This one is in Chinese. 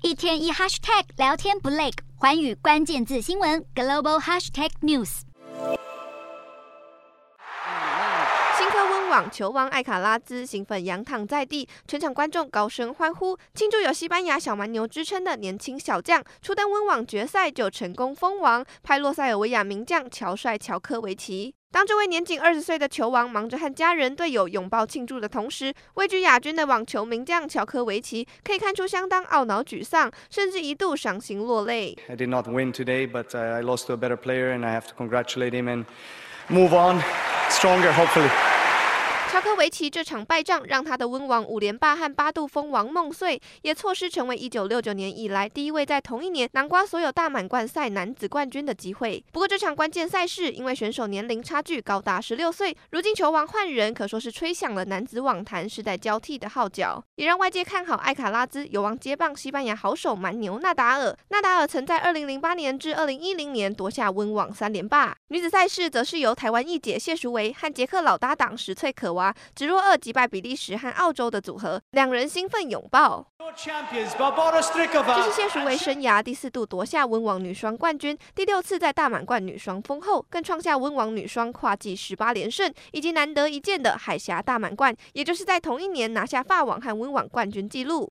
一天一 hashtag 聊天不累，寰宇關鍵字新聞 global hashtag news。 新科溫網球王艾卡拉茲興奮仰躺在地，全場觀眾高聲歡呼，慶祝有西班牙小蠻牛之稱的年輕小將初登溫網決賽就成功封王，拍落塞爾維亞名將喬帥喬科維奇。當這位年僅20歲的球王忙着和家人隊友擁抱慶祝的同時，位居亞軍的網球名將喬科維奇可以看出相當懊惱沮喪，甚至一度傷心落淚。 I did not win today, but I lost to a better player, and I have to congratulate him and move on stronger, hopefully. 喬科維奇這場敗仗讓他的溫網5連霸和8度封王夢碎，也錯失成為1969年以來第一位在同一年囊括所有大滿貫賽男子冠軍的機會。不過這場關鍵賽事因為選手年齡差距高達16歲，如今球王換人可說是吹響了男子網壇世代交替的號角，也讓外界看好艾卡拉茲有望接棒西班牙好手蠻牛納達爾。納達爾曾在2008年至2010年奪下溫網3連霸。女子賽事則是由台灣一姐謝淑薇和捷克老搭檔石翠可娃直落2擊敗比利時和澳洲的組合，兩人興奮擁抱。這是謝淑薇生涯第4度奪下溫網女雙冠軍，第6次在大滿貫女雙封後，更創下溫網女雙跨季18連勝，以及難得一見的海峽大滿貫，也就是在同一年拿下法網和溫網冠軍紀錄。